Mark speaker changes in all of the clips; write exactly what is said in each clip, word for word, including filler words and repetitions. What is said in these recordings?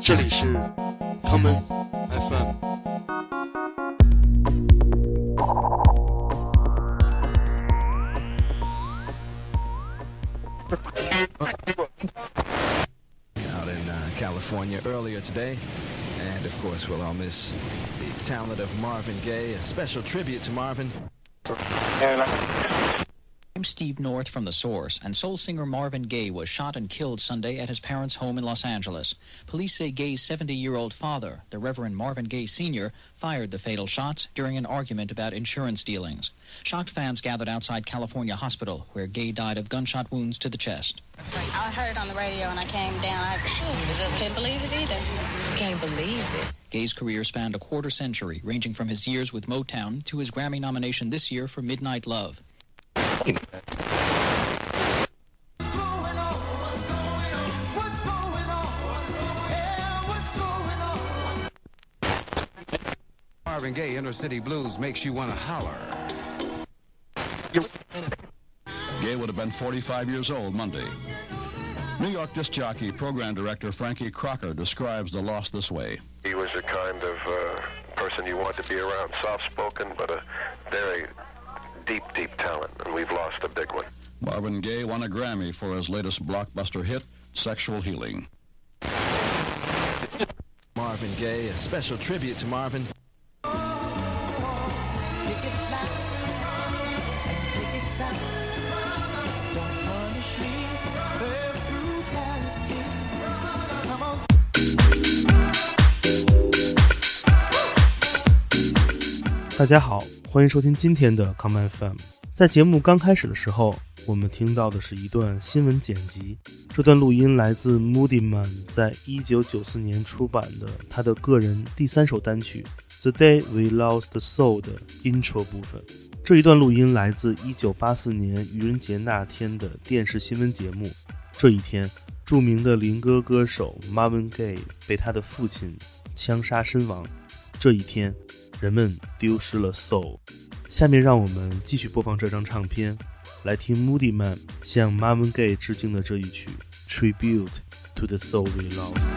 Speaker 1: 这里是 Common F M。
Speaker 2: Out in uh, California earlier today, and of course we'll all miss the talent of Marvin Gaye. A special tribute to Marvin.
Speaker 3: I'm Steve North from The Source, and soul singer Marvin Gaye was shot and killed Sunday at his parents' home in Los Angeles. Police say Gaye's seventy-year-old father, the Reverend Marvin Gaye Senior, fired the fatal shots during an argument about insurance dealings. Shocked fans gathered outside California Hospital, where Gaye died of gunshot wounds to the chest.
Speaker 4: I heard it on the radio and I came down. I couldn't believe it either.
Speaker 5: Can't believe it.
Speaker 3: Gaye's career spanned a quarter century, ranging from his years with Motown to his Grammy nomination this year for Midnight Love.
Speaker 6: Marvin Gaye, Inner City Blues makes you want to holler.
Speaker 7: Gaye would have been forty-five years old Monday. New York disc jockey program director Frankie Crocker describes the loss this way.
Speaker 8: He was the kind of uh, person you want to be around, soft-spoken, but a very deep, deep talent, and we've lost a big one.
Speaker 7: Marvin Gaye won a Grammy for his latest blockbuster hit, Sexual Healing.
Speaker 2: Marvin Gaye, a special tribute to Marvin.
Speaker 9: 大家好，欢迎收听今天的 Common F M。 在节目刚开始的时候，我们听到的是一段新闻剪辑，这段录音来自 Moodymann 在一九九四年出版的他的个人第三首单曲 The Day We Lost the Soul 的 intro 部分。这一段录音来自一九八四年愚人节那天的电视新闻节目。这一天，著名的灵歌歌手 Marvin Gaye 被他的父亲枪杀身亡。这一天，人们丢失了 soul。 下面让我们继续播放这张唱片，来听 Moodymann 向 Marvin Gaye 致敬的这一曲 Tribute to the Soul We Lost。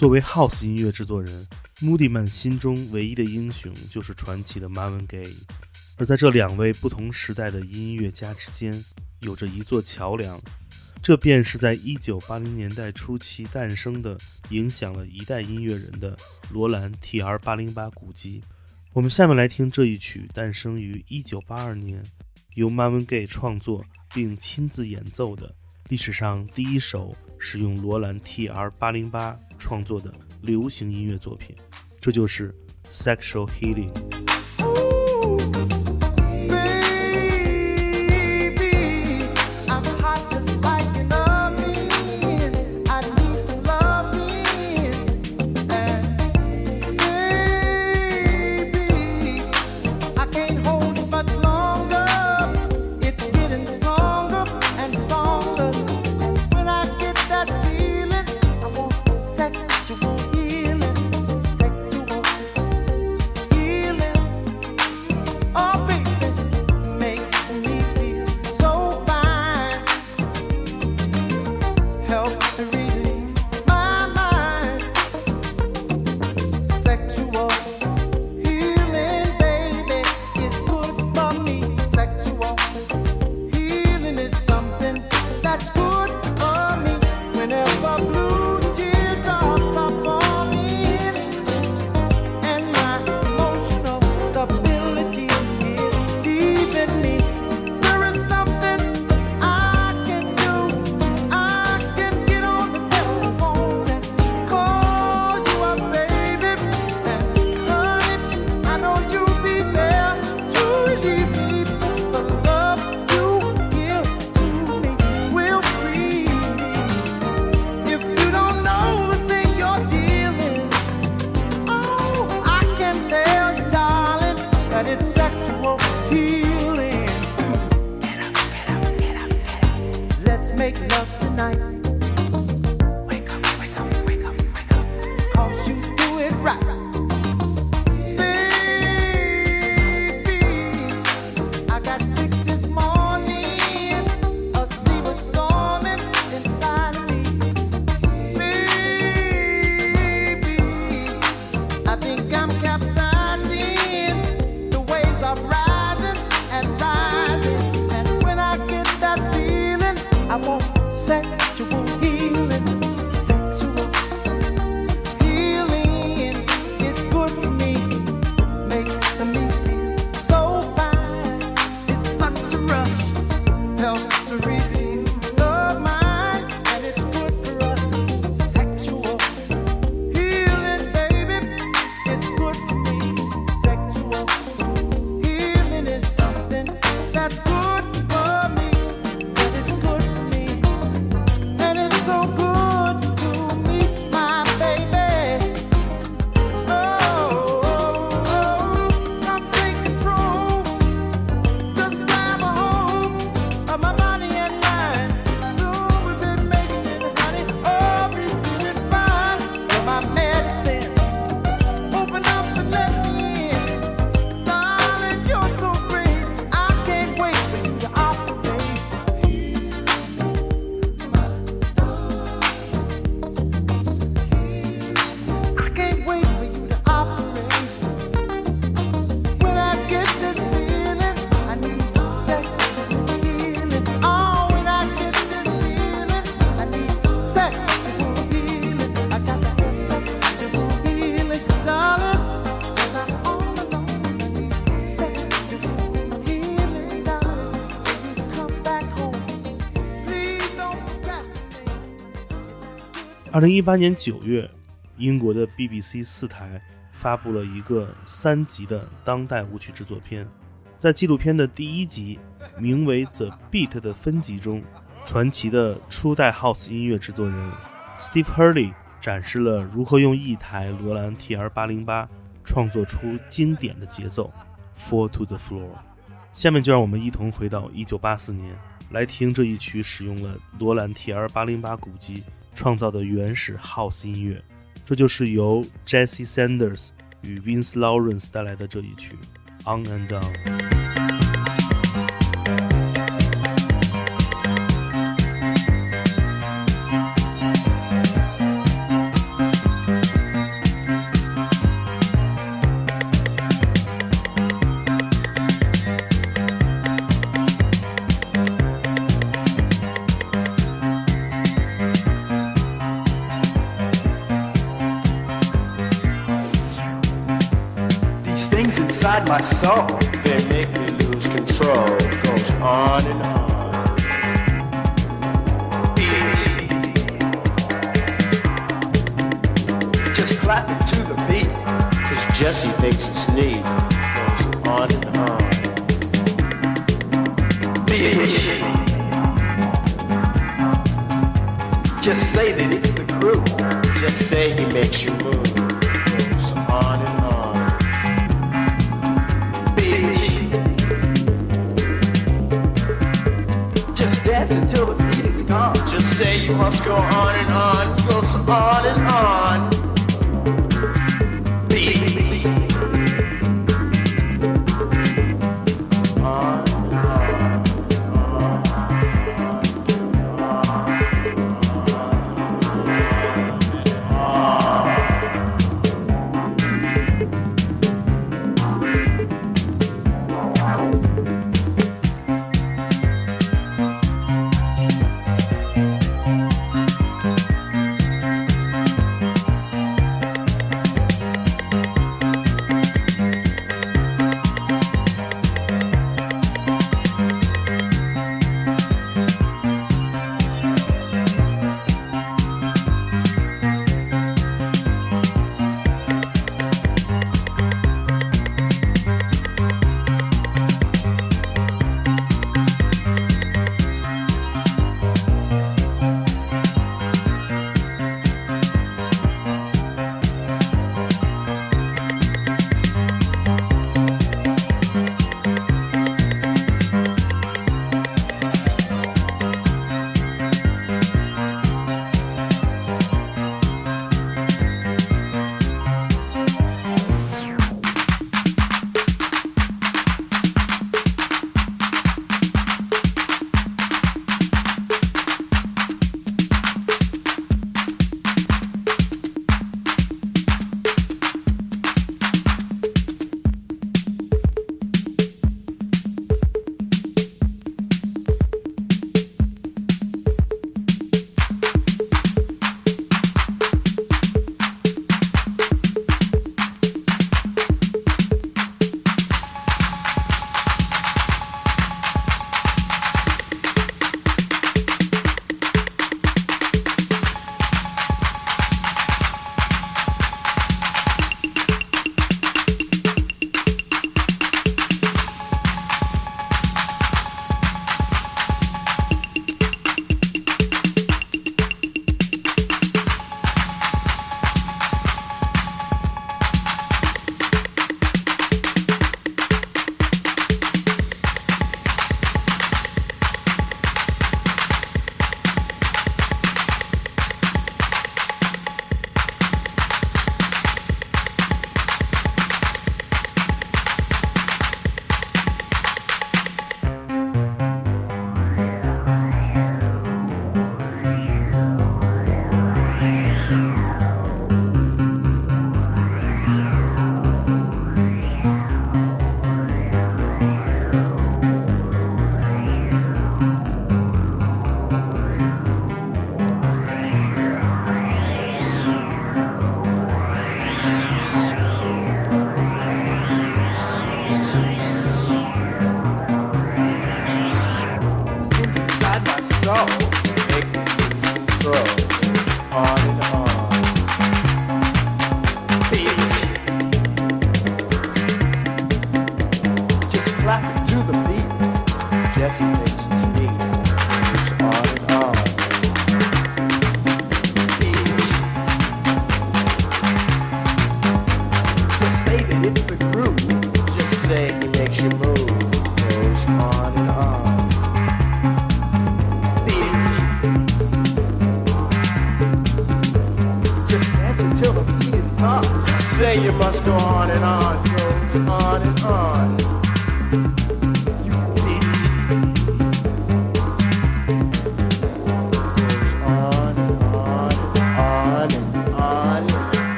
Speaker 9: 作为 House 音乐制作人， Moodymann 心中唯一的英雄就是传奇的 Marvin Gaye， 而在这两位不同时代的音乐家之间有着一座桥梁，这便是在一九八零年代初期诞生的，影响了一代音乐人的罗兰 T R 八零八 鼓机。我们下面来听这一曲诞生于一九八二年，由 Marvin Gaye 创作并亲自演奏的历史上第一首使用罗兰 T R 八零八 创作的流行音乐作品，这就是 Sexual Healing。二零一八年九月，英国的 B B C 四台发布了一个三集的当代舞曲制作片。在纪录片的第一集名为 The Beat 的分集中，传奇的初代 House 音乐制作人 Steve Hurley 展示了如何用一台罗兰 T R 八零八 创作出经典的节奏 Fall to the Floor。 下面就让我们一同回到一九八四年，来听这一曲使用了罗兰 T R 八零八 鼓机创造的原始 House 音乐，这就是由 Jesse Sanders 与 Vince Lawrence 带来的这一曲 On and On。
Speaker 5: inside my soul. They make me lose control. Goes on and on. Just clap it to the beat, cause Jesse thinks it's neat. Goes on and on. Beat. Just say that it's the crew. Just say he makes you move. Goes on and on. Beat. Just dance until the beat is gone. Just say you must go on and on. Goes on and on.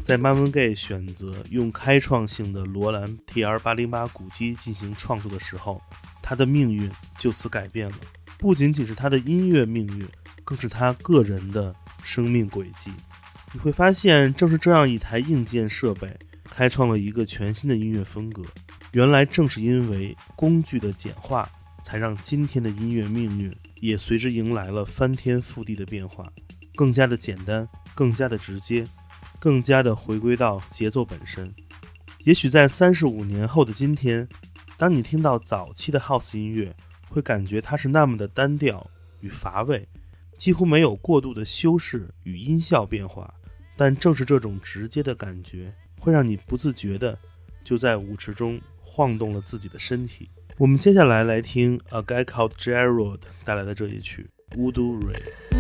Speaker 9: 在 Marvin Gaye 选择用开创性的罗兰 T R 八零八 鼓机进行创作的时候，他的命运就此改变了。不仅仅是他的音乐命运，更是他个人的生命轨迹。你会发现，正是这样一台硬件设备开创了一个全新的音乐风格。原来正是因为工具的简化，才让今天的音乐命运也随之迎来了翻天覆地的变化，更加的简单，更加的直接，更加的回归到节奏本身。也许在三十五年后的今天，当你听到早期的 House 音乐，会感觉它是那么的单调与乏味，几乎没有过度的修饰与音效变化。但正是这种直接的感觉，会让你不自觉的就在舞池中晃动了自己的身体。我们接下来来听 A Guy Called Gerald 带来的这一曲 Voodoo Ray。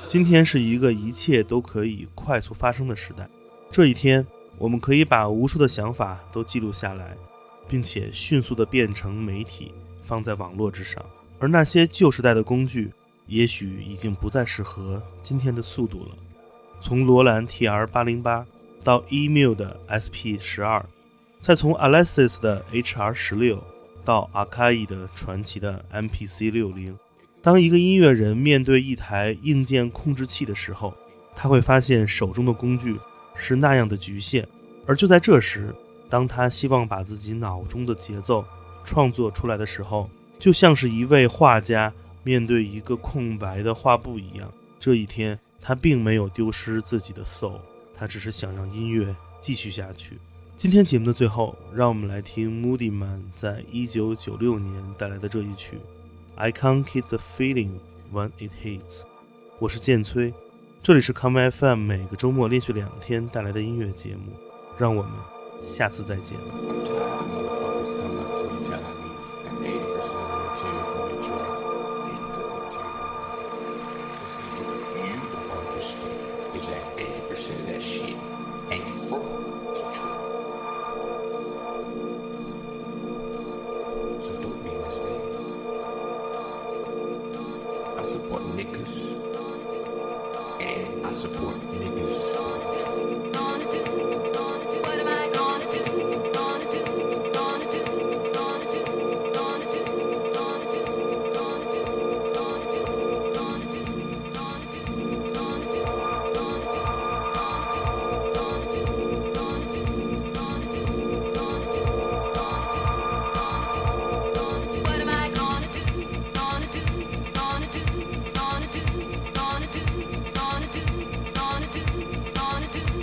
Speaker 9: 今天是一个一切都可以快速发生的时代，这一天我们可以把无数的想法都记录下来，并且迅速地变成媒体放在网络之上，而那些旧时代的工具也许已经不再适合今天的速度了。从罗兰 T R 八零八 到 Email 的 S P 十二， 再从 Alesis 的 H R 十六 到 Akai 的传奇的 M P C 六十， 当一个音乐人面对一台硬件控制器的时候，他会发现手中的工具是那样的局限，而就在这时，当他希望把自己脑中的节奏创作出来的时候，就像是一位画家面对一个空白的画布一样。这一天他并没有丢失自己的 soul， 他只是想让音乐继续下去。今天节目的最后，让我们来听 Moodymann 在一九九六年带来的这一曲 I Can't Keep the Feeling When It Hits。 我是建崔，这里是 Come F M 每个周末连续两天带来的音乐节目，让我们下次再见。
Speaker 10: Gonna do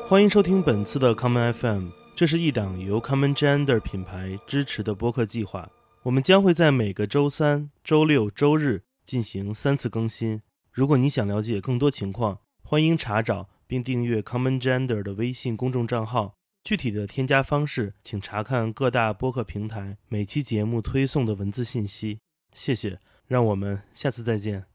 Speaker 9: 欢迎收听本次的 Common F M， 这是一档由 Common Gender 品牌支持的播客计划。我们将会在每个周三、周六、周日进行三次更新。如果你想了解更多情况，欢迎查找并订阅 Common Gender 的微信公众账号。具体的添加方式，请查看各大播客平台每期节目推送的文字信息。谢谢，让我们下次再见。